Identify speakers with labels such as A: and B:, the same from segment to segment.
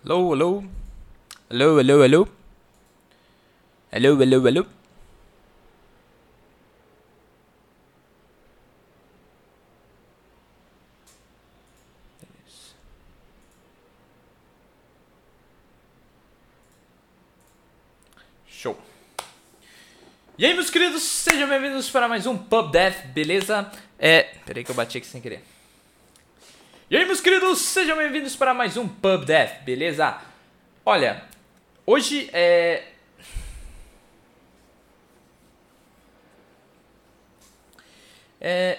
A: Alô, alô. Alô, alô, alô. Alô, alô, alô. Show. E aí, meus queridos, sejam bem-vindos para mais um Pub Death, beleza? Peraí que eu bati aqui sem querer. E aí, meus queridos, sejam bem-vindos para mais um Pub Death, beleza? Olha, hoje é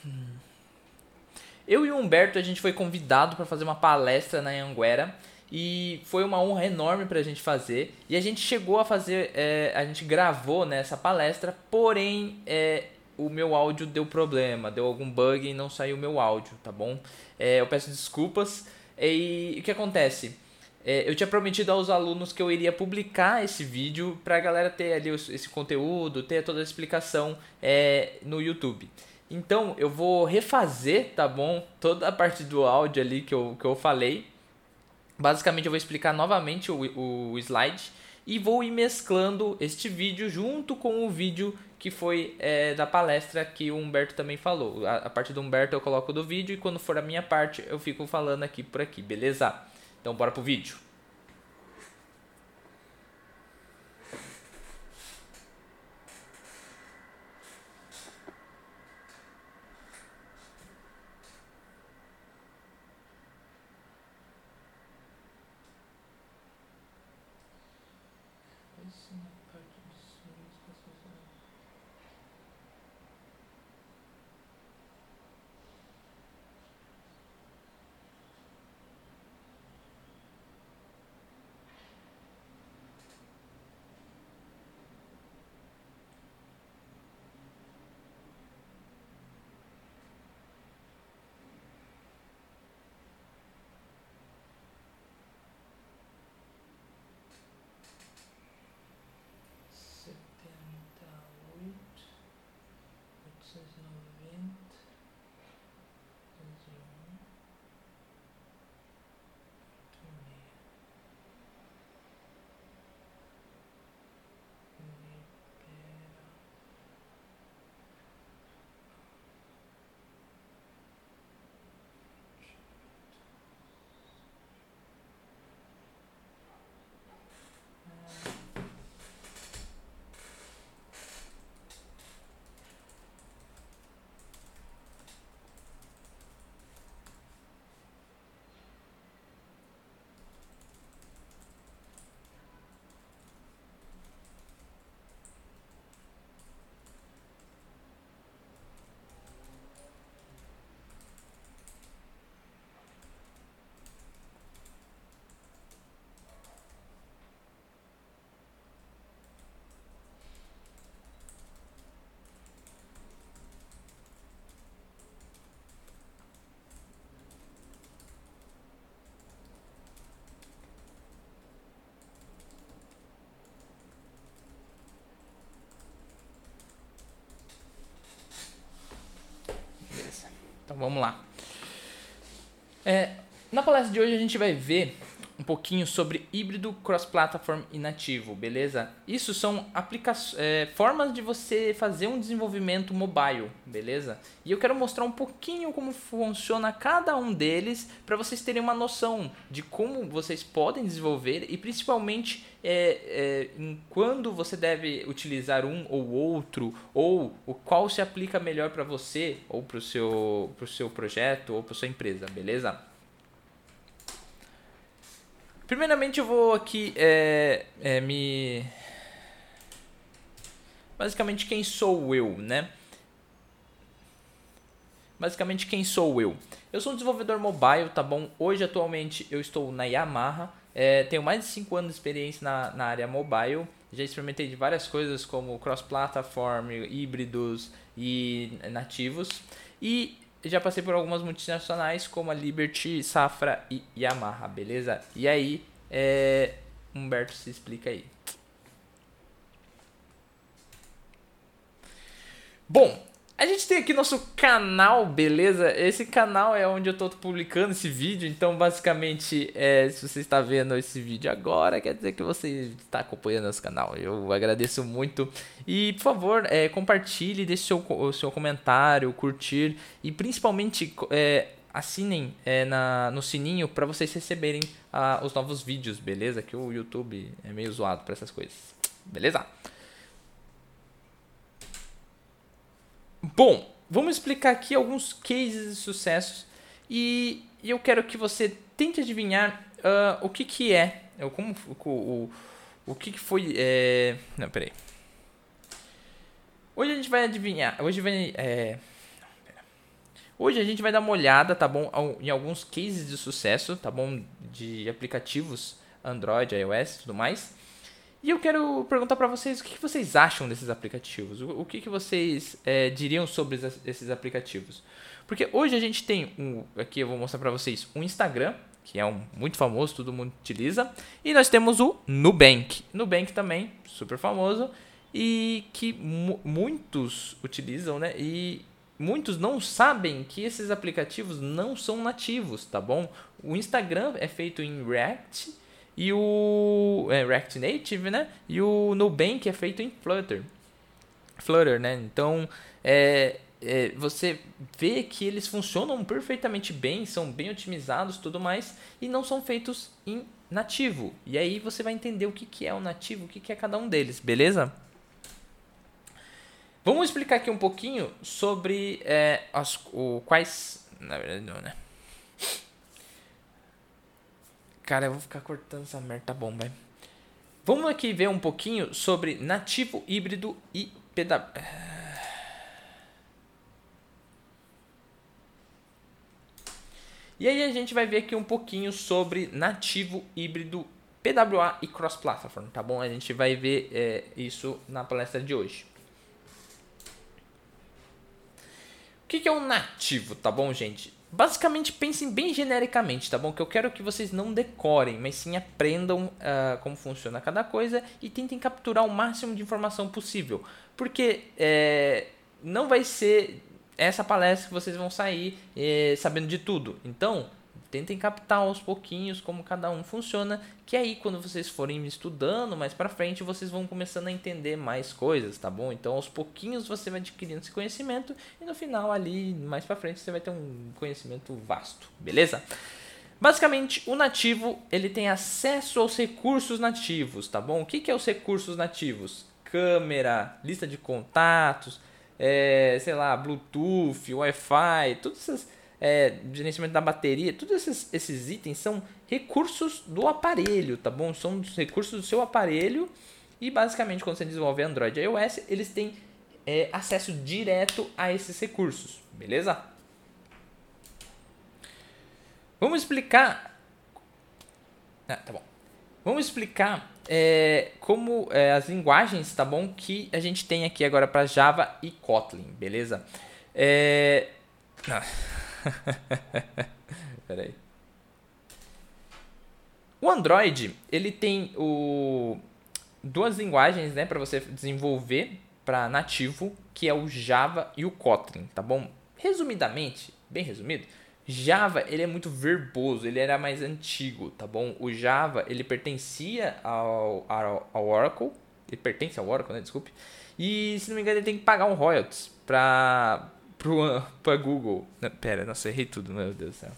A: eu e o Humberto, a gente foi convidado para fazer uma palestra na Anhanguera e foi uma honra enorme pra gente fazer. E a gente chegou a fazer, a gente gravou nessa palestra, porém o meu áudio deu problema, deu algum bug e não saiu o meu áudio, tá bom? Eu peço desculpas. E o que acontece? Eu tinha prometido aos alunos que eu iria publicar esse vídeo pra galera ter ali esse conteúdo, ter toda a explicação no YouTube. Então eu vou refazer, tá bom? Toda a parte do áudio ali que eu falei. Basicamente eu vou explicar novamente o slide e vou ir mesclando este vídeo junto com o vídeo que foi da palestra que o Humberto também falou. A parte do Humberto eu coloco do vídeo e quando for a minha parte eu fico falando aqui por aqui, beleza? Então bora pro vídeo. Beleza. Então vamos lá. Na palestra de hoje a gente vai ver um pouquinho sobre híbrido, cross-platform e nativo, beleza? Isso são formas de você fazer um desenvolvimento mobile, beleza? E eu quero mostrar um pouquinho como funciona cada um deles para vocês terem uma noção de como vocês podem desenvolver e principalmente em quando você deve utilizar um ou outro ou o qual se aplica melhor para você ou para o seu projeto ou para sua empresa, beleza? Primeiramente eu vou aqui Basicamente quem sou eu, né? Basicamente quem sou eu? Eu sou um desenvolvedor mobile, tá bom? Hoje atualmente eu estou na Yamaha, tenho mais de 5 anos de experiência na área mobile. Já experimentei de várias coisas como cross-platform, híbridos e nativos. E já passei por algumas multinacionais como a Liberty, Safra e Yamaha, beleza? E aí, Humberto, se explica aí. Bom, A gente tem aqui nosso canal, beleza? Esse canal é onde eu tô publicando esse vídeo, então basicamente, se você está vendo esse vídeo agora, quer dizer que você está acompanhando nosso canal. Eu agradeço muito. E, por favor, compartilhe, deixe o seu comentário, curtir e principalmente assinem no sininho para vocês receberem os novos vídeos, beleza? Que o YouTube é meio zoado para essas coisas, beleza? Bom, vamos explicar aqui alguns cases de sucessos e eu quero que você tente adivinhar o que que é, o que que foi, não, peraí. Hoje a gente vai adivinhar, hoje a gente vai dar uma olhada, tá bom, em alguns cases de sucesso, tá bom, de aplicativos Android, iOS e tudo mais. E eu quero perguntar para vocês o que vocês acham desses aplicativos, o que vocês diriam sobre esses aplicativos. Porque hoje a gente tem, aqui eu vou mostrar para vocês, um Instagram, que é muito famoso, todo mundo utiliza, e nós temos o Nubank. Nubank também, super famoso, e que muitos utilizam, né? E muitos não sabem que esses aplicativos não são nativos, tá bom? O Instagram é feito em React, e o React Native, né? E o Nubank é feito em Flutter, né? Então, você vê que eles funcionam perfeitamente bem, são bem otimizados, tudo mais, e não são feitos em nativo. E aí você vai entender o que é o nativo, o que é cada um deles, beleza? Vamos explicar aqui um pouquinho sobre quais... Na verdade não, né? Cara, eu vou ficar cortando essa merda, tá bom, vai. Vamos aqui ver um pouquinho sobre nativo, híbrido e PW. E aí a gente vai ver aqui um pouquinho sobre nativo, híbrido, PWA e cross-platform, tá bom? A gente vai ver isso na palestra de hoje. O que é um nativo, tá bom, gente? Basicamente, pensem bem genericamente, tá bom? Que eu quero que vocês não decorem, mas sim aprendam como funciona cada coisa e tentem capturar o máximo de informação possível. Porque não vai ser essa palestra que vocês vão sair sabendo de tudo. Então, tentem captar aos pouquinhos como cada um funciona, que aí quando vocês forem estudando mais pra frente, vocês vão começando a entender mais coisas, tá bom? Então aos pouquinhos você vai adquirindo esse conhecimento e no final ali, mais pra frente, você vai ter um conhecimento vasto, beleza? Basicamente, o nativo, ele tem acesso aos recursos nativos, tá bom? O que é os recursos nativos? Câmera, lista de contatos, sei lá, Bluetooth, Wi-Fi, todas essas... gerenciamento da bateria, todos esses itens são recursos do aparelho, tá bom? São recursos do seu aparelho e basicamente quando você desenvolve Android e iOS, eles têm acesso direto a esses recursos, beleza? Vamos explicar... tá bom. Vamos explicar como as linguagens, tá bom? Que a gente tem aqui agora para Java e Kotlin, beleza? Peraí. O Android, ele tem duas linguagens, né, para você desenvolver para nativo, que é o Java e o Kotlin, tá bom? Resumidamente, bem resumido, Java, ele é muito verboso, ele era mais antigo, tá bom? O Java, ele pertencia ao Oracle, ele pertence ao Oracle, né, desculpe. E, se não me engano, ele tem que pagar um royalties pra Google. Nossa, errei tudo, meu Deus do céu.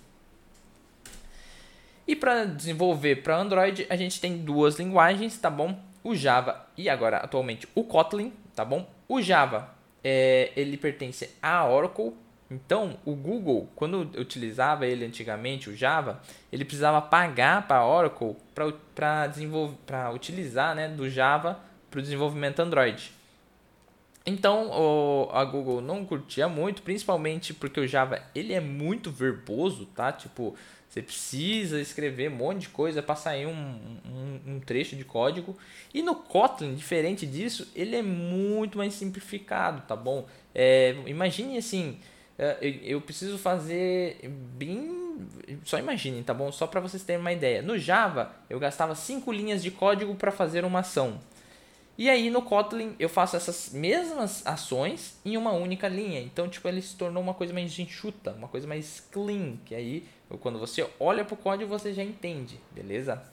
A: E para desenvolver para Android, a gente tem duas linguagens, tá bom? O Java e agora, atualmente, o Kotlin, tá bom? O Java, ele pertence à Oracle. Então, o Google, quando eu utilizava ele antigamente, o Java, ele precisava pagar para a Oracle para utilizar, né, do Java para o desenvolvimento Android. Então, a Google não curtia muito, principalmente porque o Java, ele é muito verboso, tá? Tipo, você precisa escrever um monte de coisa para sair um trecho de código. E no Kotlin, diferente disso, ele é muito mais simplificado, tá bom? Imagine assim, eu preciso fazer bem... Só imaginem, tá bom? Só para vocês terem uma ideia. No Java, eu gastava 5 linhas de código para fazer uma ação. E aí no Kotlin eu faço essas mesmas ações em uma única linha. Então, tipo, ele se tornou uma coisa mais enxuta, uma coisa mais clean, que aí quando você olha pro código você já entende, beleza?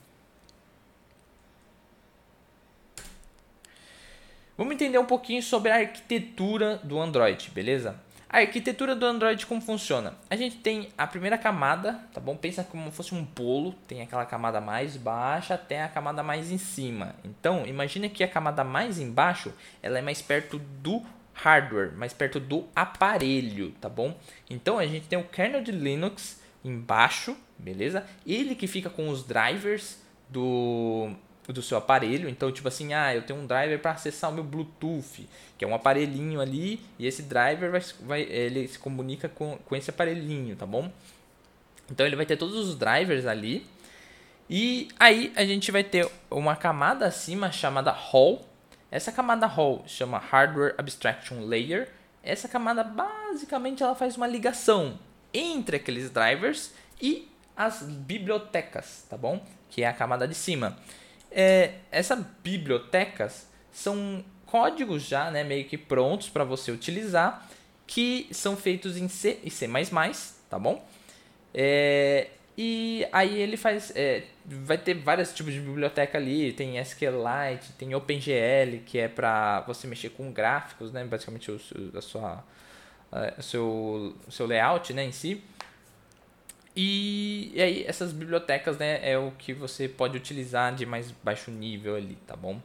A: Vamos entender um pouquinho sobre a arquitetura do Android, beleza? A arquitetura do Android como funciona? A gente tem a primeira camada, tá bom? Pensa como fosse um bolo, tem aquela camada mais baixa até a camada mais em cima. Então, imagina que a camada mais embaixo, ela é mais perto do hardware, mais perto do aparelho, tá bom? Então, a gente tem o kernel de Linux embaixo, beleza? Ele que fica com os drivers do seu aparelho. Então, tipo assim, eu tenho um driver para acessar o meu Bluetooth, que é um aparelhinho ali, e esse driver ele se comunica com esse aparelhinho, tá bom? Então, ele vai ter todos os drivers ali. E aí, a gente vai ter uma camada acima chamada Hall. Essa camada Hall chama Hardware Abstraction Layer. Essa camada, basicamente, ela faz uma ligação entre aqueles drivers e as bibliotecas, tá bom? Que é a camada de cima. Essas bibliotecas são códigos já, né, meio que prontos para você utilizar, que são feitos em C e C++, tá bom? E aí ele faz, vai ter vários tipos de biblioteca ali, tem SQLite, tem OpenGL, que é para você mexer com gráficos, né, basicamente o seu layout, né, em si. E aí essas bibliotecas, né, é o que você pode utilizar de mais baixo nível ali, tá bom?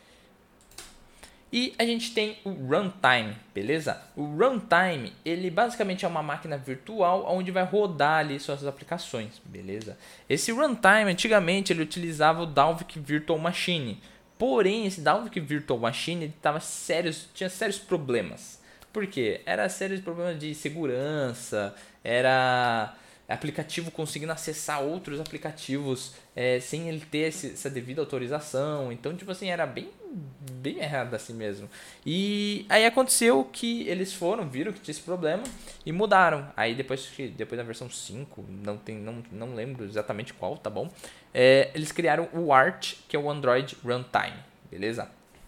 A: E a gente tem o runtime, beleza? O runtime, ele basicamente é uma máquina virtual onde vai rodar ali suas aplicações, beleza? Esse runtime, antigamente, ele utilizava o Dalvik Virtual Machine. Porém, esse Dalvik Virtual Machine ele tinha sérios problemas. Por quê? Era sérios problemas de segurança, era aplicativo conseguindo acessar outros aplicativos sem ele ter essa devida autorização. Então, tipo assim, era bem errado assim mesmo. E aí aconteceu que eles viram que tinha esse problema e mudaram. Aí depois da versão 5, não lembro exatamente qual, tá bom? Eles criaram o Arch, que é o Android Runtime, beleza?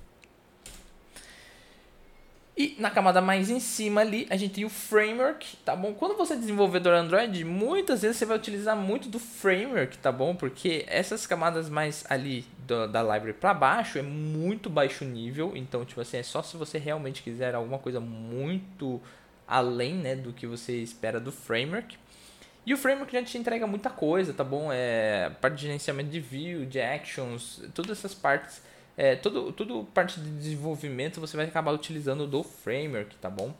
A: E na camada mais em cima ali, a gente tem o framework, tá bom? Quando você é desenvolvedor Android, muitas vezes você vai utilizar muito do framework, tá bom? Porque essas camadas mais ali da library para baixo é muito baixo nível. Então, tipo assim, é só se você realmente quiser alguma coisa muito além, né, do que você espera do framework. E o framework já te entrega muita coisa, tá bom? Parte de gerenciamento de view, de actions, todas essas partes. Tudo parte de desenvolvimento você vai acabar utilizando do framework, tá bom?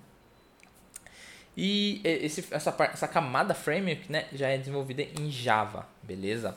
A: E essa camada framework, né, já é desenvolvida em Java, beleza?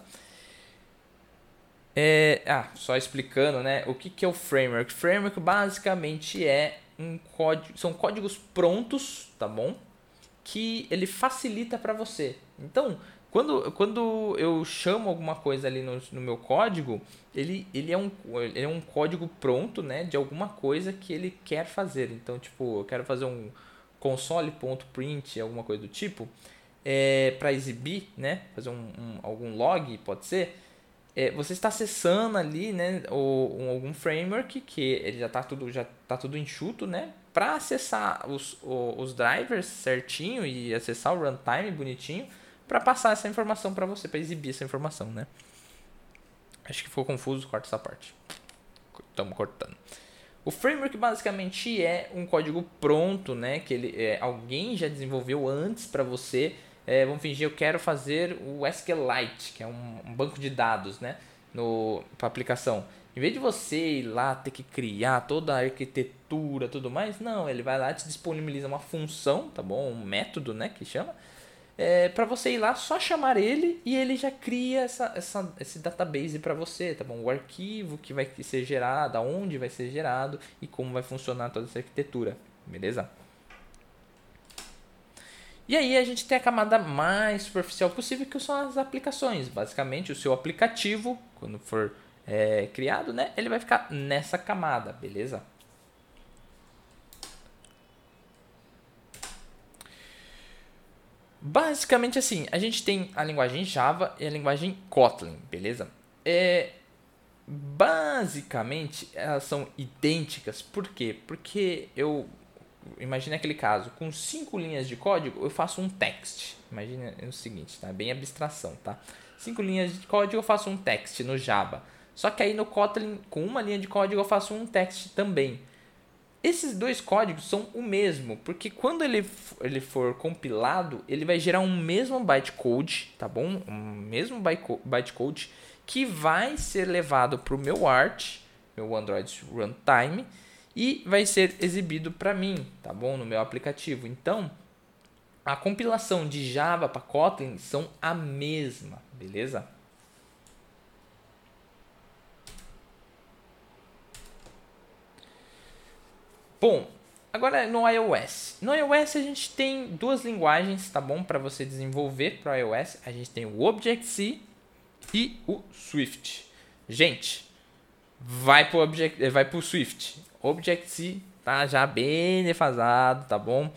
A: Só explicando, né, o que é o framework. Framework basicamente são códigos prontos, tá bom? Que ele facilita para você. Então, quando eu chamo alguma coisa ali no meu código, ele é um código pronto, né, de alguma coisa que ele quer fazer. Então, tipo, eu quero fazer um console.print, alguma coisa do tipo, para exibir, né, fazer algum log, pode ser. Você está acessando ali, né, algum framework que ele já tá tudo enxuto, né, para acessar os drivers certinho e acessar o runtime bonitinho para passar essa informação para você, para exibir essa informação, né? Acho que ficou confuso, corta essa parte. Estamos cortando. O framework basicamente é um código pronto, né, que alguém já desenvolveu antes para você. Vamos fingir, eu quero fazer o SQLite, que é um banco de dados, né, para aplicação. Em vez de você ir lá ter que criar toda a arquitetura, tudo mais, não, ele vai lá e te disponibiliza uma função, tá bom? Um método, né, que chama, para você ir lá, só chamar ele e ele já cria esse database para você, tá bom? O arquivo que vai ser gerado, aonde vai ser gerado e como vai funcionar toda essa arquitetura, beleza? E aí a gente tem a camada mais superficial possível, que são as aplicações. Basicamente, o seu aplicativo, quando for criado, né, ele vai ficar nessa camada, beleza? Basicamente assim, a gente tem a linguagem Java e a linguagem Kotlin, beleza? basicamente elas são idênticas. Por quê? Porque imagine aquele caso, com 5 linhas de código eu faço um text. Imagine o seguinte, tá? Bem abstração, tá? 5 linhas de código eu faço um text no Java. Só que aí no Kotlin, com uma linha de código eu faço um text também. Esses dois códigos são o mesmo, porque quando ele for compilado, ele vai gerar um mesmo bytecode, tá bom? Um mesmo bytecode que vai ser levado para o meu Arch, meu Android Runtime, e vai ser exibido para mim, tá bom? No meu aplicativo. Então, a compilação de Java para Kotlin são a mesma, beleza? Bom, agora no iOS. No iOS a gente tem duas linguagens, tá bom? Para você desenvolver para o iOS. A gente tem o Objective-C e o Swift. Gente, vai pro Swift. Objective-C tá já bem defasado, tá bom?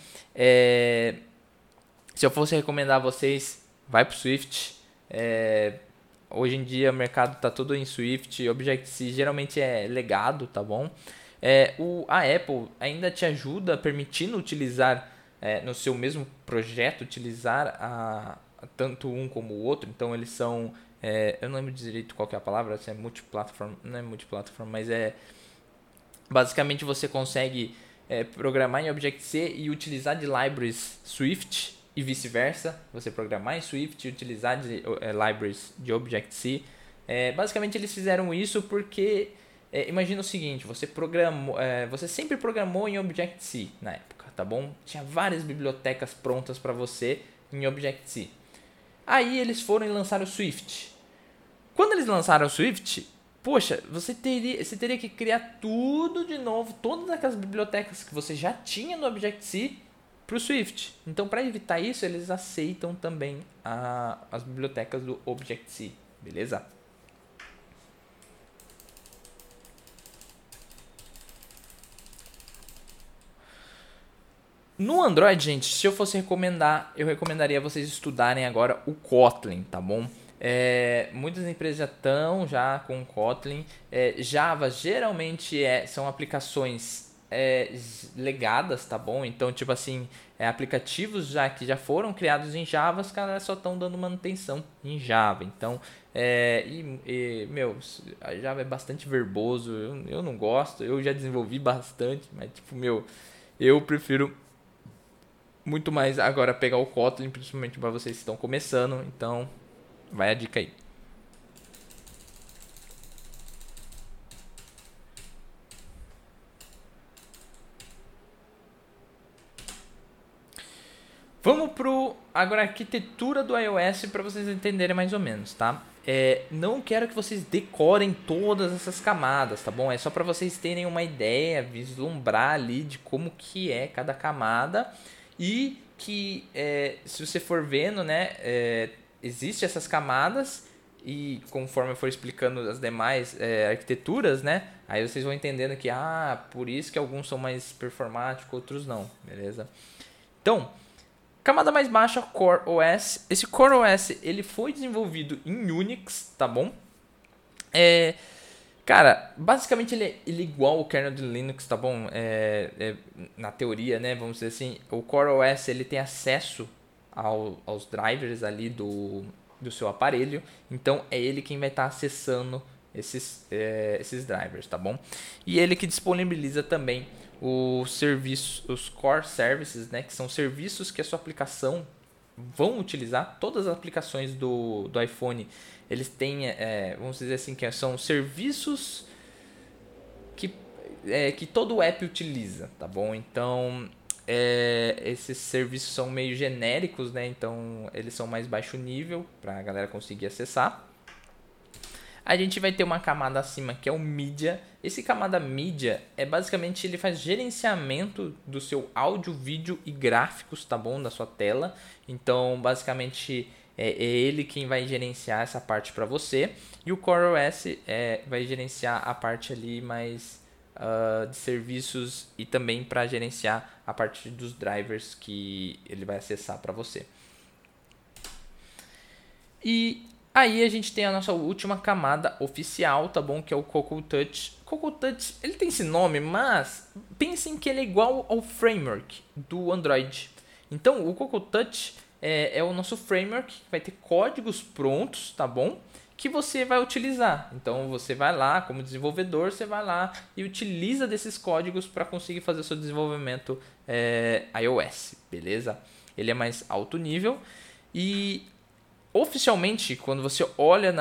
A: Se eu fosse recomendar a vocês, vai pro Swift. Hoje em dia o mercado tá todo em Swift. Objective-C geralmente é legado, tá bom? A Apple ainda te ajuda permitindo utilizar no seu mesmo projeto, utilizar tanto um como o outro. Então eles são, eu não lembro direito qual que é a palavra, se é multiplataforma, não é multiplataforma, mas basicamente você consegue programar em Objective-C e utilizar de libraries Swift e vice-versa. Você programar em Swift e utilizar de libraries de Objective-C. Basicamente eles fizeram isso porque imagina o seguinte, você sempre programou em Objective-C na época, tá bom? Tinha várias bibliotecas prontas para você em Objective-C. Aí eles foram e lançaram o Swift. Quando eles lançaram o Swift, poxa, você teria que criar tudo de novo, todas aquelas bibliotecas que você já tinha no Objective-C para o Swift. Então, para evitar isso, eles aceitam também as bibliotecas do Objective-C, beleza? No Android, gente, se eu fosse recomendar, eu recomendaria vocês estudarem agora o Kotlin, tá bom? Muitas empresas já estão já com o Kotlin. Java geralmente são aplicações legadas, tá bom? Então, tipo assim, aplicativos que já foram criados em Java, os caras só estão dando manutenção em Java. Então, meu, a Java é bastante verboso, eu não gosto, eu já desenvolvi bastante, mas tipo, meu, eu prefiro muito mais agora pegar o Kotlin, principalmente para vocês que estão começando. Então, vai a dica aí. Vamos pro agora a arquitetura do iOS para vocês entenderem mais ou menos, tá? Não quero que vocês decorem todas essas camadas, tá bom? É só para vocês terem uma ideia, vislumbrar ali de como que é cada camada e que se você for vendo, né, existe essas camadas e conforme eu for explicando as demais arquiteturas, né, aí vocês vão entendendo que por isso que alguns são mais performáticos, outros não, beleza? Então, camada mais baixa, Core OS. Esse Core OS ele foi desenvolvido em Unix, tá bom? Cara, basicamente ele é igual ao kernel de Linux, tá bom? Na teoria, né? Vamos dizer assim, o Core OS ele tem acesso aos drivers ali do seu aparelho. Então é ele quem vai estar acessando esses drivers, tá bom? E ele que disponibiliza também os core services, né? Que são serviços que a sua aplicação vão utilizar. Todas as aplicações do iPhone, eles têm, vamos dizer assim, que são serviços que todo app utiliza, tá bom? Então, esses serviços são meio genéricos, né? Então, eles são mais baixo nível para a galera conseguir acessar. A gente vai ter uma camada acima que é o Media. Esse camada Media basicamente ele faz gerenciamento do seu áudio, vídeo e gráficos, tá bom? Da sua tela. Então, basicamente é ele quem vai gerenciar essa parte para você. E o CoreOS vai gerenciar a parte ali mais de serviços e também para gerenciar a parte dos drivers que ele vai acessar para você. E Aí a gente tem a nossa última camada oficial, tá bom? Que é o Cocoa Touch. Cocoa Touch, ele tem esse nome, mas pensem que ele é igual ao framework do Android. Então, o Cocoa Touch é o nosso framework, que vai ter códigos prontos, tá bom? Que você vai utilizar. Então, você vai lá, como desenvolvedor, você vai lá e utiliza desses códigos para conseguir fazer o seu desenvolvimento iOS, beleza? Ele é mais alto nível e oficialmente, quando você olha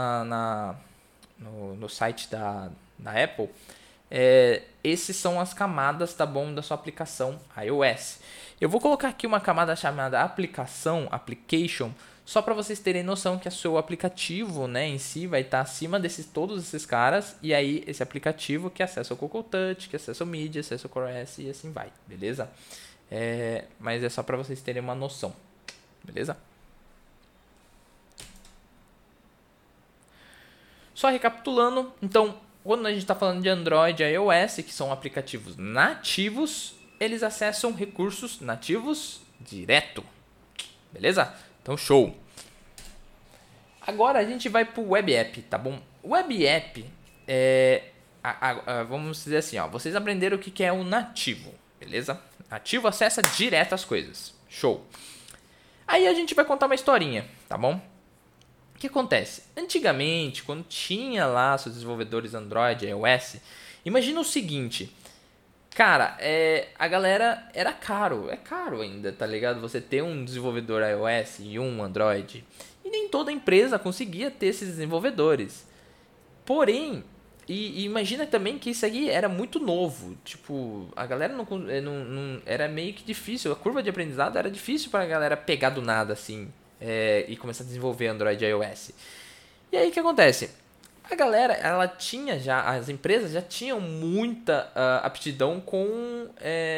A: no site da Apple, esses são as camadas, tá bom, da sua aplicação iOS. Eu vou colocar aqui uma camada chamada application, só para vocês terem noção que o seu aplicativo, né, em si vai estar acima desses todos esses caras, e aí esse aplicativo que acessa o Cocoa Touch, que acessa o Media, acessa o CoreOS e assim vai, beleza? Mas é só para vocês terem uma noção, beleza? Só recapitulando, então, quando a gente está falando de Android e iOS, que são aplicativos nativos, eles acessam recursos nativos direto. Beleza? Então, show! Agora a gente vai para o Web App, tá bom? Web App vamos dizer assim, ó, vocês aprenderam o que é o nativo, beleza? Nativo acessa direto as coisas. Show! Aí a gente vai contar uma historinha, tá bom? O que acontece? Antigamente, quando tinha lá seus desenvolvedores Android e iOS, imagina o seguinte, cara, a galera era caro, é caro ainda, tá ligado? Você ter um desenvolvedor iOS e um Android, e nem toda empresa conseguia ter esses desenvolvedores. Porém, e imagina também que isso aqui era muito novo, tipo, a galera não era meio que difícil, a curva de aprendizado era difícil pra galera pegar do nada assim. E começar a desenvolver Android e iOS. E aí o que acontece? A galera, ela tinha já, as empresas já tinham muita aptidão com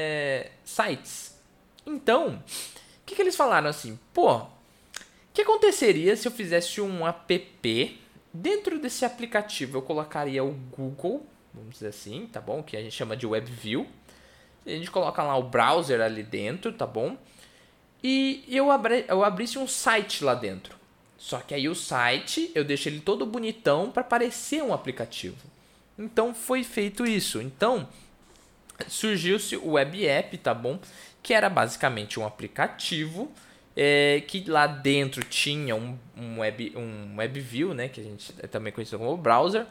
A: sites. Então, o que eles falaram assim? Pô, o que aconteceria se eu fizesse um app? Dentro desse aplicativo eu colocaria o Google, vamos dizer assim, tá bom? Que a gente chama de WebView. A gente coloca lá o browser ali dentro, tá bom? E eu abrisse um site lá dentro. Só que aí o site eu deixo ele todo bonitão para parecer um aplicativo. Então foi feito isso. Então surgiu-se o Web App, tá bom? Que era basicamente um aplicativo que lá dentro tinha um WebView, né? Que a gente também conhece como browser.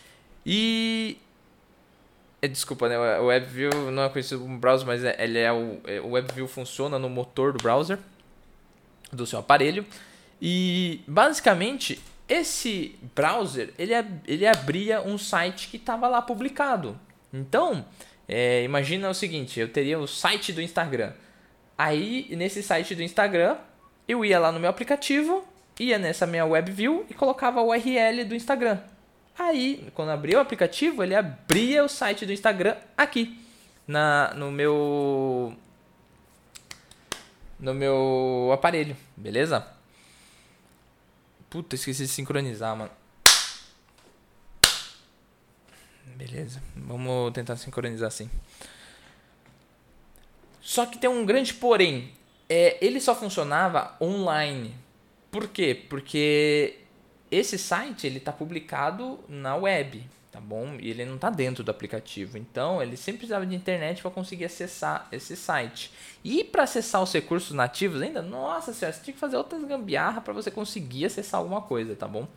A: E desculpa, né? O WebView não é conhecido como browser, mas o WebView funciona no motor do browser do seu aparelho. E basicamente esse browser ele abria um site que estava lá publicado. Então, imagina o seguinte: eu teria o site do Instagram. Aí nesse site do Instagram eu ia lá no meu aplicativo, ia nessa minha WebView e colocava a URL do Instagram. Aí, quando abria o aplicativo, ele abria o site do Instagram aqui, no meu aparelho, beleza? Puta, esqueci de sincronizar, mano. Beleza, vamos tentar sincronizar assim. Só que tem um grande porém. Ele só funcionava online. Por quê? Porque esse site ele está publicado na web, tá bom? E ele não está dentro do aplicativo. Então, ele sempre precisava de internet para conseguir acessar esse site. E para acessar os recursos nativos ainda, nossa senhora, você tinha que fazer outras gambiarra para você conseguir acessar alguma coisa, tá bom?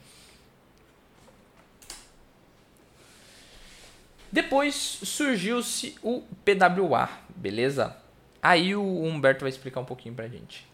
A: Depois surgiu-se o PWA, beleza? Aí o Humberto vai explicar um pouquinho pra gente.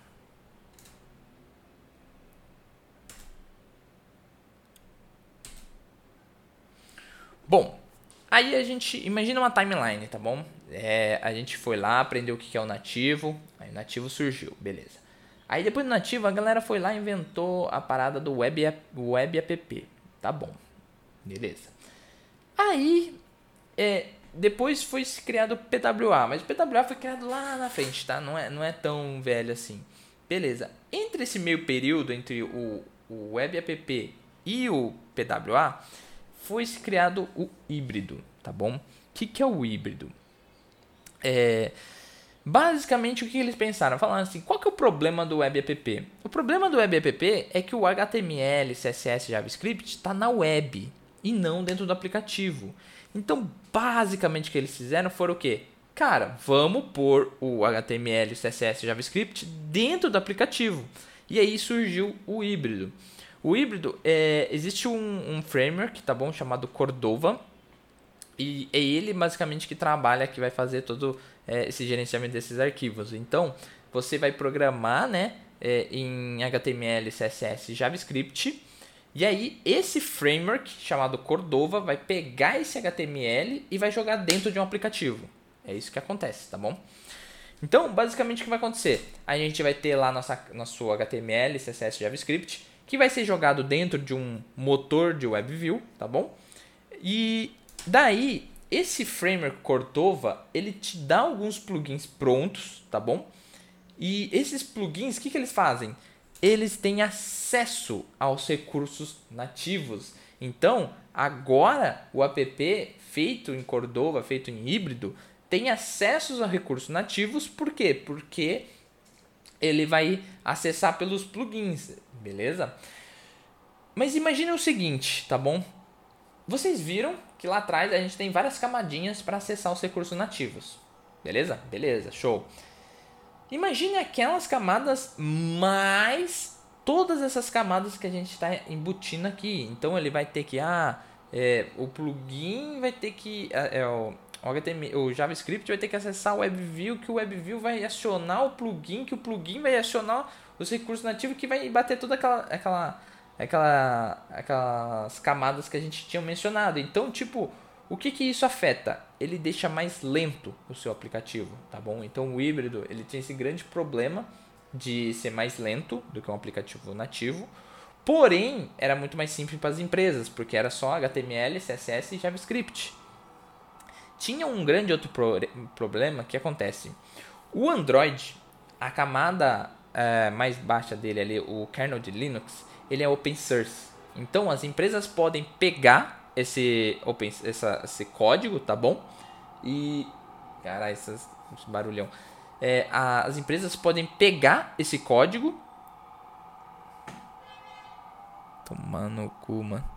A: Bom, aí a gente imagina uma timeline, tá bom? A gente foi lá, aprendeu o que é o nativo, aí o nativo surgiu, beleza. Aí depois do nativo a galera foi lá e inventou a parada do web app, tá bom, beleza. Aí depois foi criado o PWA, mas o PWA foi criado lá na frente, tá? Não é tão velho assim. Beleza. Entre esse meio período, entre o web app e o PWA, foi criado o híbrido, tá bom? O que é o híbrido? Basicamente, o que eles pensaram? Falaram assim, qual que é o problema do Web App? O problema do Web App é que o HTML, CSS, JavaScript está na web e não dentro do aplicativo. Então, basicamente, o que eles fizeram foi o quê? Cara, vamos pôr o HTML, CSS, JavaScript dentro do aplicativo. E aí surgiu o híbrido. O híbrido, existe um framework, tá bom? Chamado Cordova. E é ele basicamente que trabalha, que vai fazer todo esse gerenciamento desses arquivos. Então, você vai programar, né, em HTML, CSS e JavaScript. E aí, esse framework chamado Cordova vai pegar esse HTML e vai jogar dentro de um aplicativo. É isso que acontece, tá bom? Então, basicamente, o que vai acontecer? A gente vai ter lá nosso HTML, CSS e JavaScript, que vai ser jogado dentro de um motor de WebView, tá bom? E daí, esse framework Cordova, ele te dá alguns plugins prontos, tá bom? E esses plugins, o que eles fazem? Eles têm acesso aos recursos nativos. Então, agora o app feito em Cordova, feito em híbrido, tem acesso a recursos nativos. Por quê? Porque ele vai acessar pelos plugins, beleza? Mas imagine o seguinte, tá bom? Vocês viram que lá atrás a gente tem várias camadinhas para acessar os recursos nativos. Beleza? Beleza, show. Imagine aquelas camadas mais todas essas camadas que a gente está embutindo aqui. Então ele vai ter que... o plugin vai ter que... o JavaScript vai ter que acessar o WebView, que o WebView vai acionar o plugin, que o plugin vai acionar os recursos nativos, que vai bater toda aquelas camadas que a gente tinha mencionado. Então, tipo, o que isso afeta? Ele deixa mais lento o seu aplicativo, tá bom? Então, o híbrido, ele tem esse grande problema de ser mais lento do que um aplicativo nativo. Porém, era muito mais simples para as empresas, porque era só HTML, CSS e JavaScript. Tinha um grande outro problema que acontece. O Android, a camada mais baixa dele ali, o kernel de Linux, ele é open source. Então as empresas podem pegar esse código, tá bom? E... caralho, esse barulhão. As empresas podem pegar esse código... tomando o cu, mano.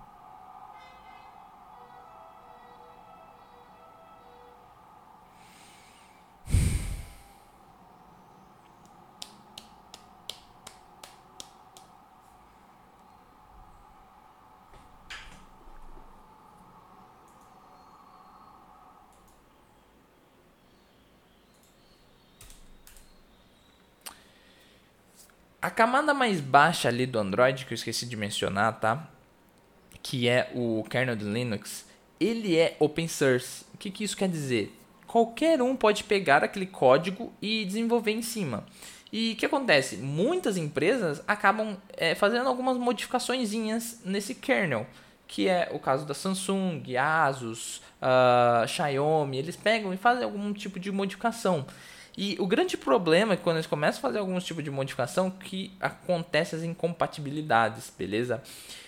A: A camada mais baixa ali do Android, que eu esqueci de mencionar, tá? Que é o kernel de Linux, ele é open source. O que isso quer dizer? Qualquer um pode pegar aquele código e desenvolver em cima. E o que acontece? Muitas empresas acabam fazendo algumas modificaçõezinhas nesse kernel, que é o caso da Samsung, Asus, Xiaomi. Eles pegam e fazem algum tipo de modificação. E o grande problema é que quando eles começam a fazer algum tipo de modificação, que acontecem as incompatibilidades, beleza?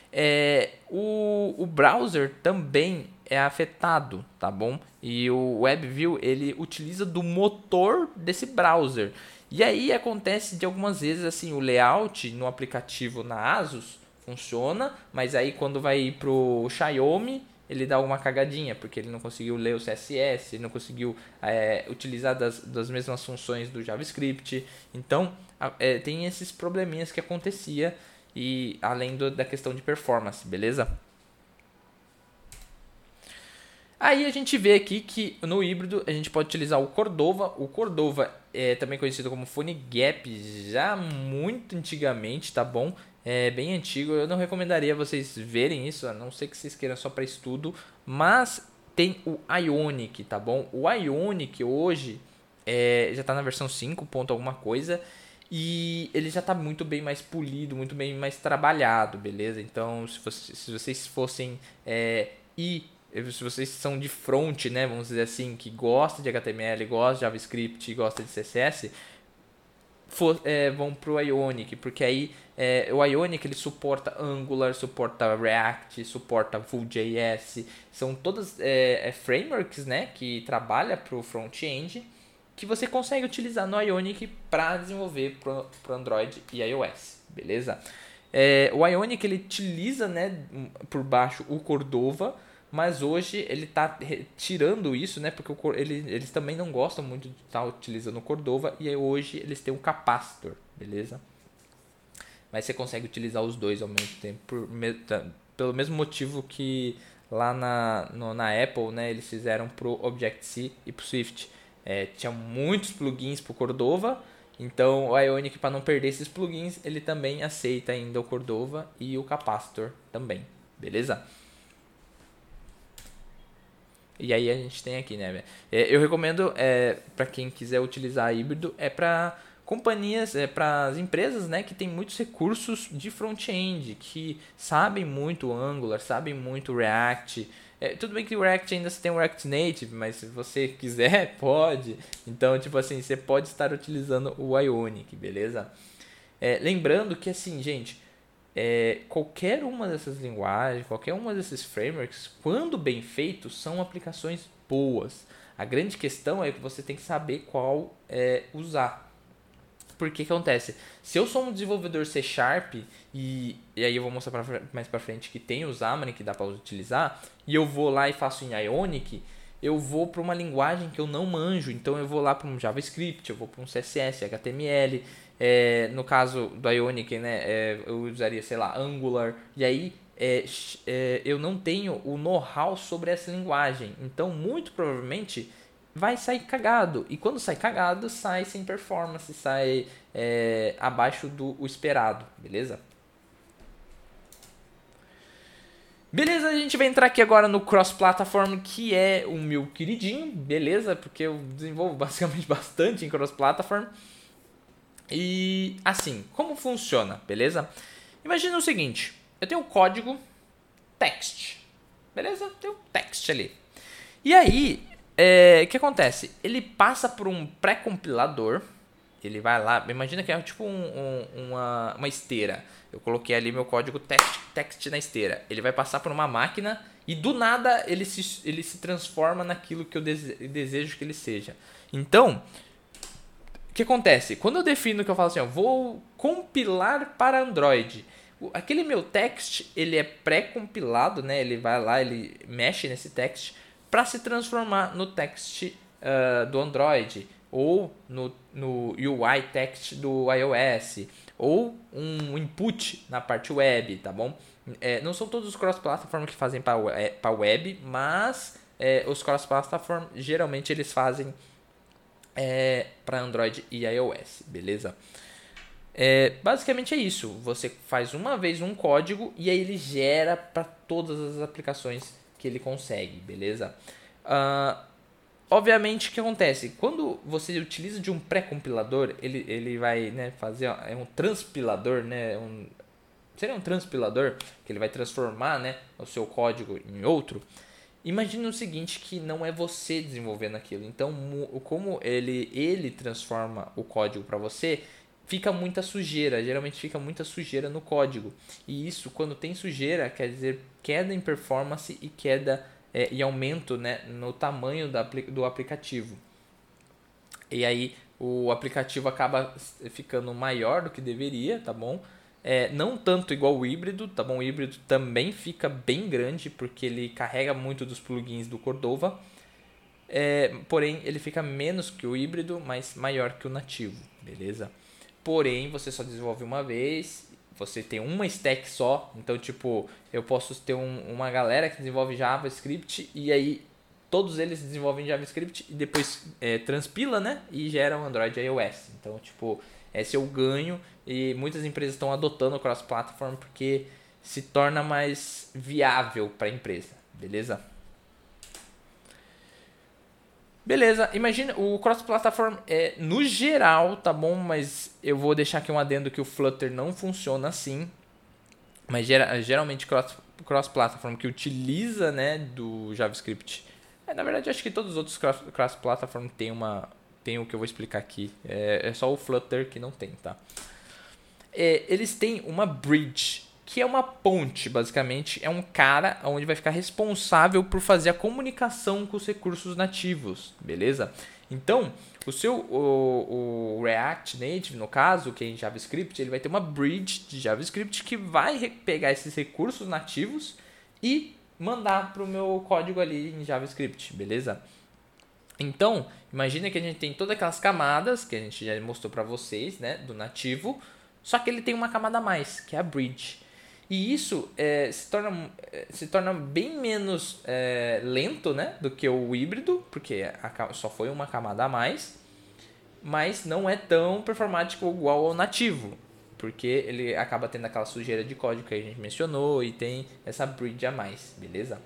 A: O browser também é afetado, tá bom? E o WebView, ele utiliza do motor desse browser. E aí acontece de algumas vezes assim, o layout no aplicativo na Asus funciona, mas aí quando vai pro Xiaomi, ele dá uma cagadinha, porque ele não conseguiu ler o CSS, ele não conseguiu utilizar das mesmas funções do JavaScript. Então, tem esses probleminhas que acontecia, e além da questão de performance, beleza? Aí a gente vê aqui que no híbrido a gente pode utilizar o Cordova. O Cordova é também conhecido como PhoneGap já muito antigamente, tá bom? É bem antigo, eu não recomendaria vocês verem isso, a não ser que vocês queiram só para estudo. Mas tem o Ionic, tá bom? O Ionic hoje já está na versão 5 ponto alguma coisa. E ele já está muito bem mais polido, muito bem mais trabalhado, beleza? Então, se vocês fossem se vocês são de front, né, vamos dizer assim, que gosta de HTML, gosta de JavaScript, gosta de CSS, vão pro Ionic, porque aí o Ionic ele suporta Angular, suporta React, suporta Vue.js, são todas frameworks, né, que trabalham pro front-end. que você consegue utilizar no Ionic para desenvolver para o Android e iOS, beleza? O Ionic ele utiliza, né, por baixo o Cordova, mas hoje ele está tirando isso, né, porque eles também não gostam muito de estar utilizando o Cordova, e aí hoje eles têm um capacitor, beleza? Mas você consegue utilizar os dois ao mesmo tempo, pelo mesmo motivo que lá na Apple, né, eles fizeram pro Objective-C e pro Swift. Tinha muitos plugins pro Cordova, então o Ionic, para não perder esses plugins, ele também aceita ainda o Cordova e o capacitor também, beleza? E aí a gente tem aqui, né? Eu recomendo, para quem quiser utilizar híbrido, para companhias, para as empresas, né, que tem muitos recursos de front-end, que sabem muito Angular, sabem muito React. Tudo bem que o React ainda tem o React Native, mas se você quiser, pode. Então, tipo assim, você pode estar utilizando o Ionic, beleza? Lembrando que, assim, gente, qualquer uma dessas linguagens, qualquer uma desses frameworks, quando bem feitos, são aplicações boas. A grande questão é que você tem que saber qual usar. Porque que acontece? Se eu sou um desenvolvedor C Sharp, e aí eu vou mostrar mais pra frente que tem o Xamarin que dá para utilizar, e eu vou lá e faço em Ionic, eu vou para uma linguagem que eu não manjo, então eu vou lá para um JavaScript, eu vou para um CSS, HTML, no caso do Ionic, né, eu usaria, sei lá, Angular, e aí eu não tenho o know-how sobre essa linguagem, então muito provavelmente vai sair cagado. E quando sai cagado, sai sem performance, sai abaixo do esperado, beleza? Beleza, a gente vai entrar aqui agora no cross-platform, que é o meu queridinho, beleza? Porque eu desenvolvo basicamente bastante em cross-platform. E assim, como funciona, beleza? Imagina o seguinte, eu tenho um código text, beleza? Tem um text ali. E aí, o que acontece? Ele passa por um pré-compilador. Ele vai lá, imagina que é tipo uma esteira. Eu coloquei ali meu código text na esteira. Ele vai passar por uma máquina e do nada ele se transforma naquilo que eu desejo que ele seja. Então, o que acontece? Quando eu defino que eu falo assim, vou compilar para Android, aquele meu text, ele é pré-compilado, né? Ele vai lá, ele mexe nesse text para se transformar no text do Android, ou no UI text do iOS, ou um input na parte web, tá bom? Não são todos os cross-platform que fazem para web, mas os cross-platform geralmente eles fazem para Android e iOS, beleza? Basicamente é isso. Você faz uma vez um código e aí ele gera para todas as aplicações que ele consegue, beleza? Obviamente, o que acontece? Quando você utiliza de um pré-compilador, ele vai, né, fazer um transpilador, né? Seria um transpilador que ele vai transformar, né, o seu código em outro. Imagine o seguinte, que não é você desenvolvendo aquilo. Então, como ele transforma o código para você, fica muita sujeira. Geralmente fica muita sujeira no código. E isso, quando tem sujeira, quer dizer queda em performance e queda e aumento, né, no tamanho do aplicativo. E aí o aplicativo acaba ficando maior do que deveria, tá bom? Não tanto igual o híbrido, tá bom? O híbrido também fica bem grande porque ele carrega muito dos plugins do Cordova. Porém, ele fica menos que o híbrido, mas maior que o nativo, beleza? Porém, você só desenvolve uma vez, você tem uma stack só. Então, tipo, eu posso ter uma galera que desenvolve JavaScript e aí todos eles desenvolvem JavaScript e depois transpila, né? E geram Android e iOS. Então, tipo, esse é o ganho e muitas empresas estão adotando o cross-platform porque se torna mais viável para a empresa, beleza? Beleza, imagina, o cross-platform no geral, tá bom? Mas eu vou deixar aqui um adendo que o Flutter não funciona assim. Mas geralmente cross-platform que utiliza, né, do JavaScript. Na verdade, acho que todos os outros cross-platform tem o que eu vou explicar aqui. É só o Flutter que não tem, tá? Eles têm uma bridge, que é uma ponte, basicamente. É um cara onde vai ficar responsável por fazer a comunicação com os recursos nativos, beleza? Então, o React Native, no caso, que é em JavaScript, ele vai ter uma bridge de JavaScript que vai pegar esses recursos nativos e mandar para o meu código ali em JavaScript, beleza? Então, imagina que a gente tem todas aquelas camadas que a gente já mostrou para vocês, né, do nativo, só que ele tem uma camada a mais, que é a bridge. E isso se torna bem menos lento, né, do que o híbrido, porque só foi uma camada a mais, mas não é tão performático igual ao nativo, porque ele acaba tendo aquela sujeira de código que a gente mencionou e tem essa bridge a mais, beleza?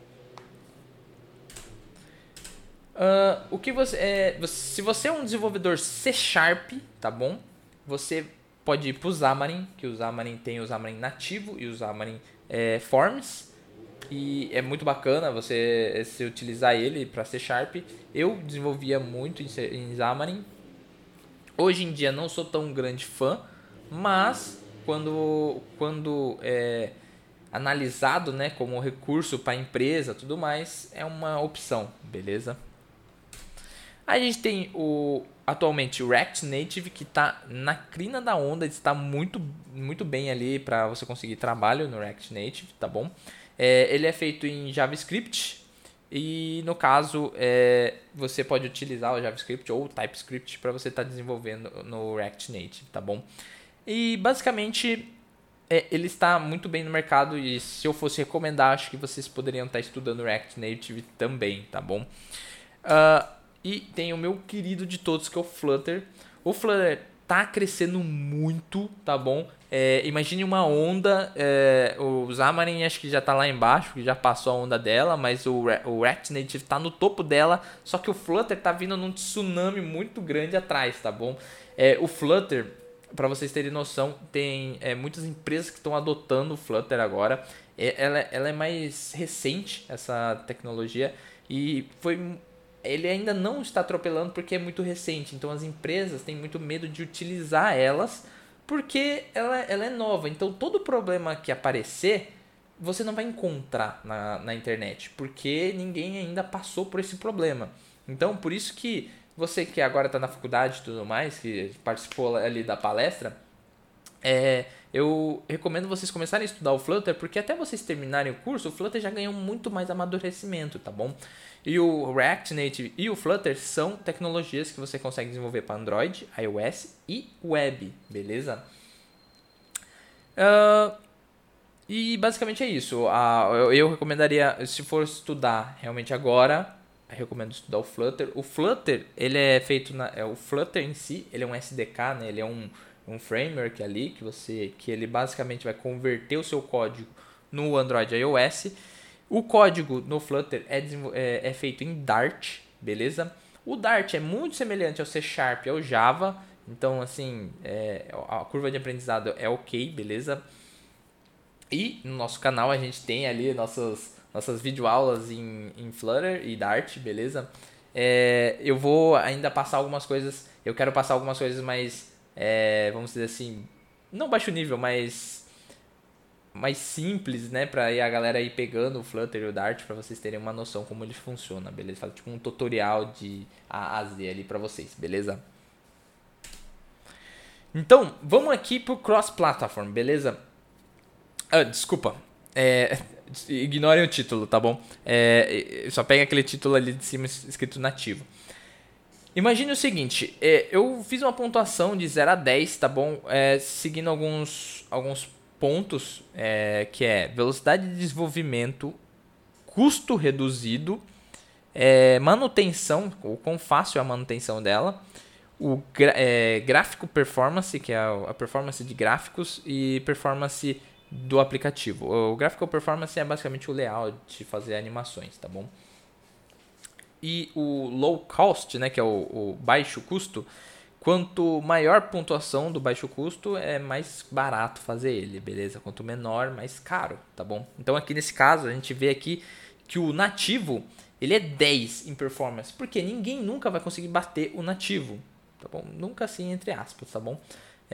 A: O que se você é um desenvolvedor C Sharp, tá bom? Você pode ir para o Xamarin, que o Xamarin tem o Xamarin nativo e o Xamarin Forms. E é muito bacana você se utilizar ele para C Sharp. Eu desenvolvia muito em Xamarin. Hoje em dia não sou tão grande fã, mas quando é analisado, né, como recurso para empresa, tudo mais, é uma opção, beleza? A gente tem atualmente o React Native, que está na crina da onda, está muito, muito bem ali para você conseguir trabalho no React Native, tá bom? Ele é feito em JavaScript e no caso você pode utilizar o JavaScript ou o TypeScript para você estar desenvolvendo no React Native, tá bom? E basicamente ele está muito bem no mercado e se eu fosse recomendar, acho que vocês poderiam estar estudando React Native também, tá bom? E tem o meu querido de todos, que é o Flutter. O Flutter tá crescendo muito, tá bom? Imagine uma onda, o Xamarin acho que já tá lá embaixo, que já passou a onda dela, mas o React Native tá no topo dela, só que o Flutter tá vindo num tsunami muito grande atrás, tá bom? O Flutter, para vocês terem noção, tem muitas empresas que estão adotando o Flutter agora. Ela é mais recente, essa tecnologia, e ele ainda não está atropelando porque é muito recente. Então as empresas têm muito medo de utilizar elas porque ela é nova. Então todo problema que aparecer, você não vai encontrar na internet, porque ninguém ainda passou por esse problema. Então por isso que você que agora está na faculdade e tudo mais, que participou ali da palestra, eu recomendo vocês começarem a estudar o Flutter, porque até vocês terminarem o curso, o Flutter já ganhou muito mais amadurecimento, tá bom? E o React Native e o Flutter são tecnologias que você consegue desenvolver para Android, iOS e web, beleza? E basicamente é isso. Eu recomendaria, se for estudar realmente agora, eu recomendo estudar o Flutter. O Flutter, ele é feito o Flutter em si, ele é um SDK, né? Ele é um framework ali que ele basicamente vai converter o seu código no Android e iOS. O código no Flutter é feito em Dart, beleza? O Dart é muito semelhante ao C Sharp e ao Java, então assim, a curva de aprendizado é ok, beleza? E no nosso canal a gente tem ali nossas videoaulas em Flutter e Dart, beleza? Eu vou ainda passar algumas coisas, eu quero passar algumas coisas mais, vamos dizer assim, não baixo nível, mas mais simples, né, pra a galera ir pegando o Flutter e o Dart pra vocês terem uma noção como ele funciona, beleza? Faz tipo um tutorial de A a Z ali pra vocês, beleza? Então, vamos aqui pro cross-platform, beleza? Desculpa, ignorem o título, tá bom? Só pega aquele título ali de cima escrito nativo. Imagine o seguinte, eu fiz uma pontuação de 0 a 10, tá bom? Seguindo alguns pontos, que é velocidade de desenvolvimento, custo reduzido, manutenção, o quão fácil é a manutenção dela, gráfico performance, que é a performance de gráficos, e performance do aplicativo. O gráfico performance é basicamente o layout de fazer animações, tá bom? E o low cost, né, que é o baixo custo, quanto maior pontuação do baixo custo, é mais barato fazer ele, beleza? Quanto menor, mais caro, tá bom? Então aqui nesse caso, a gente vê aqui que o nativo, ele é 10 em performance, porque ninguém nunca vai conseguir bater o nativo, tá bom? Nunca assim, entre aspas, tá bom?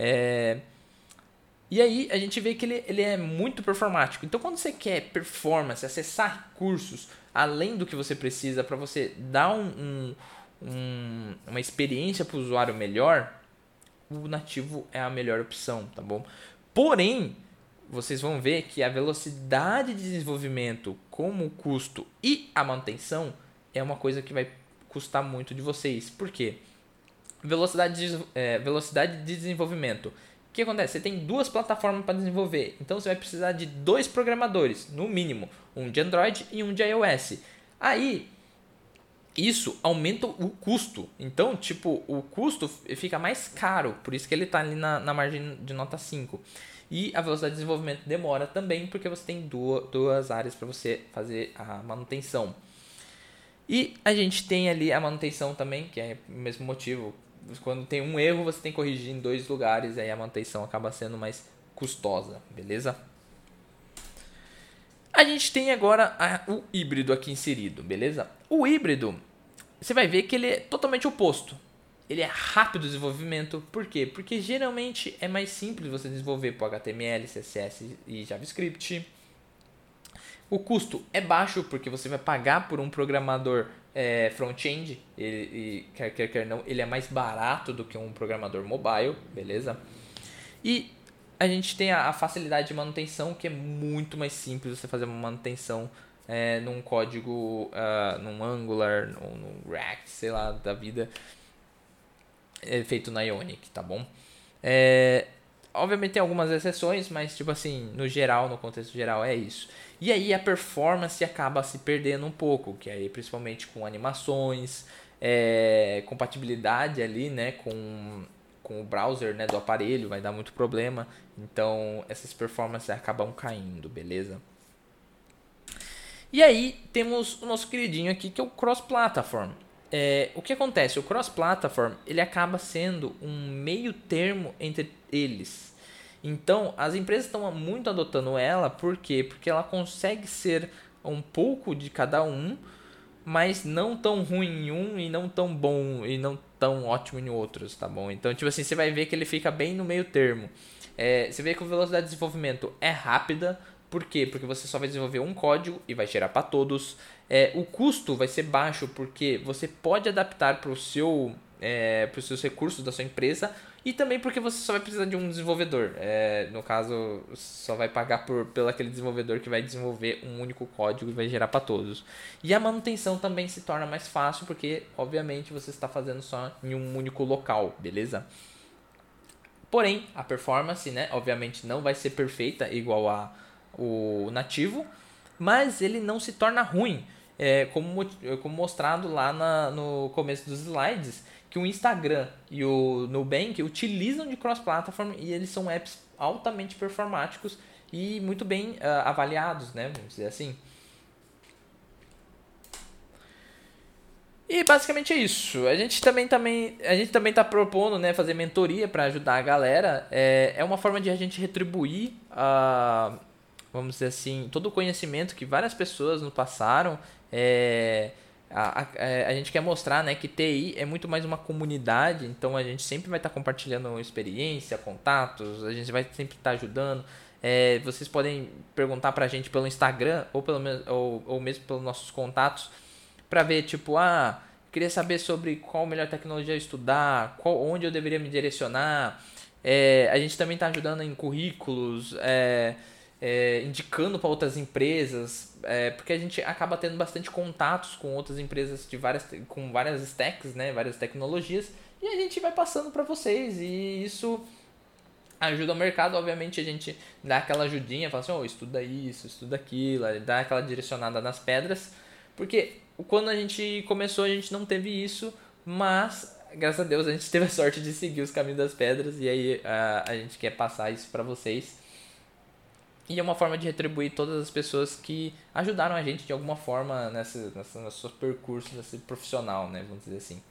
A: E aí a gente vê que ele é muito performático. Então quando você quer performance, acessar recursos além do que você precisa para você dar uma experiência para o usuário melhor, o nativo é a melhor opção, tá bom? Porém, vocês vão ver que a velocidade de desenvolvimento, como o custo e a manutenção, é uma coisa que vai custar muito de vocês. Por quê? Velocidade de desenvolvimento. O que acontece? Você tem duas plataformas para desenvolver, então você vai precisar de dois programadores, no mínimo, um de Android e um de iOS. Aí, isso aumenta o custo. Então, tipo, o custo fica mais caro, por isso que ele está ali na margem de nota 5. E a velocidade de desenvolvimento demora também, porque você tem duas áreas para você fazer a manutenção. E a gente tem ali a manutenção também, que é o mesmo motivo. Quando tem um erro, você tem que corrigir em dois lugares, aí a manutenção acaba sendo mais custosa, beleza? A gente tem agora o híbrido aqui inserido, beleza? O híbrido, você vai ver que ele é totalmente oposto. Ele é rápido o desenvolvimento, por quê? Porque geralmente é mais simples você desenvolver por HTML, CSS e JavaScript. O custo é baixo porque você vai pagar por um programador front-end, quer não, ele é mais barato do que um programador mobile, beleza? E a gente tem a facilidade de manutenção, que é muito mais simples você fazer uma manutenção num código, num Angular, num React, sei lá, da vida, feito na Ionic, tá bom? Obviamente tem algumas exceções, mas tipo assim, no geral, no contexto geral é isso. E aí a performance acaba se perdendo um pouco, que aí principalmente com animações, compatibilidade ali, né, com o browser, né, do aparelho, vai dar muito problema. Então essas performances acabam caindo, beleza? E aí temos o nosso queridinho aqui, que é o cross-platform. O que acontece? O cross-platform ele acaba sendo um meio termo entre eles. Então, as empresas estão muito adotando ela, por quê? Porque ela consegue ser um pouco de cada um, mas não tão ruim em um e não tão bom e não tão ótimo em outros, tá bom? Então, tipo assim, você vai ver que ele fica bem no meio termo. Você vê que a velocidade de desenvolvimento é rápida, por quê? Porque você só vai desenvolver um código e vai gerar para todos. O custo vai ser baixo porque você pode adaptar para os seus recursos da sua empresa e também porque você só vai precisar de um desenvolvedor. No caso, só vai pagar pelo aquele desenvolvedor que vai desenvolver um único código e vai gerar para todos. E a manutenção também se torna mais fácil porque, obviamente, você está fazendo só em um único local, beleza? Porém, a performance, né, obviamente não vai ser perfeita igual o nativo, mas ele não se torna ruim, como mostrado lá no começo dos slides, que o Instagram e o Nubank utilizam de cross-platform e eles são apps altamente performáticos e muito bem avaliados, né, vamos dizer assim. E basicamente é isso. A gente também está propondo, né, fazer mentoria para ajudar a galera. É uma forma de a gente retribuir vamos dizer assim, todo o conhecimento que várias pessoas nos passaram. A gente quer mostrar, né, que TI é muito mais uma comunidade, então a gente sempre vai estar compartilhando experiência, contatos, a gente vai sempre estar ajudando. Vocês podem perguntar pra gente pelo Instagram ou mesmo pelos nossos contatos para ver, tipo, queria saber sobre qual a melhor tecnologia estudar, onde eu deveria me direcionar. A gente também está ajudando em currículos, indicando para outras empresas, porque a gente acaba tendo bastante contatos com outras empresas com várias stacks, né, várias tecnologias, e a gente vai passando para vocês, e isso ajuda o mercado. Obviamente a gente dá aquela ajudinha, fala assim, estuda isso, estuda aquilo, dá aquela direcionada nas pedras, porque quando a gente começou a gente não teve isso, mas graças a Deus a gente teve a sorte de seguir os caminhos das pedras, e aí a gente quer passar isso para vocês. E é uma forma de retribuir todas as pessoas que ajudaram a gente de alguma forma nesse percurso, nesse profissional, né, vamos dizer assim.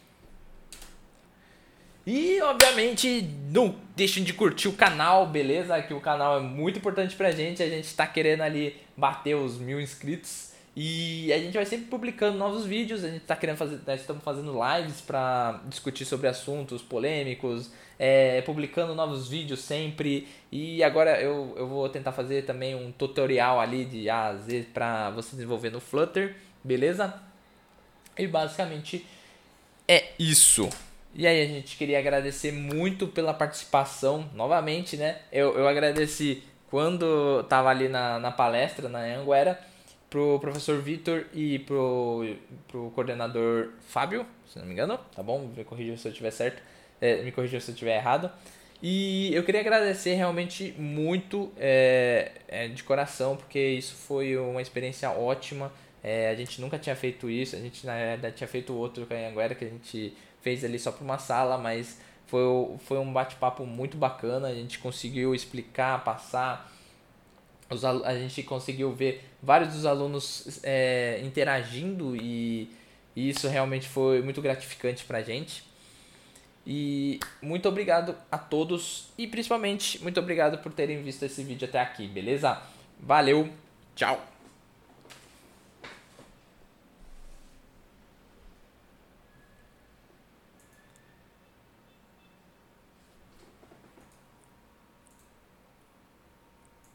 A: E, obviamente, não deixem de curtir o canal, beleza? Que o canal é muito importante pra gente. A gente tá querendo ali bater os 1000 inscritos. E a gente vai sempre publicando novos vídeos. A gente tá querendo nós estamos fazendo lives pra discutir sobre assuntos polêmicos. Publicando novos vídeos sempre. E agora eu vou tentar fazer também um tutorial ali de A a Z pra você desenvolver no Flutter, beleza? E basicamente é isso. E aí a gente queria agradecer muito pela participação, novamente, né? Eu agradeci quando tava ali na palestra, na Anhanguera, pro professor Vitor e pro coordenador Fábio, se não me engano, tá bom? Me corrija se eu estiver certo, me corrija se eu estiver errado. E eu queria agradecer realmente muito de coração, porque isso foi uma experiência ótima. A gente nunca tinha feito isso, a gente na verdade tinha feito outro com a Anhanguera que a gente fez ali só para uma sala, mas foi um bate-papo muito bacana, a gente conseguiu explicar, passar, a gente conseguiu ver vários dos alunos interagindo e isso realmente foi muito gratificante pra gente. E muito obrigado a todos e principalmente muito obrigado por terem visto esse vídeo até aqui, beleza? Valeu, tchau!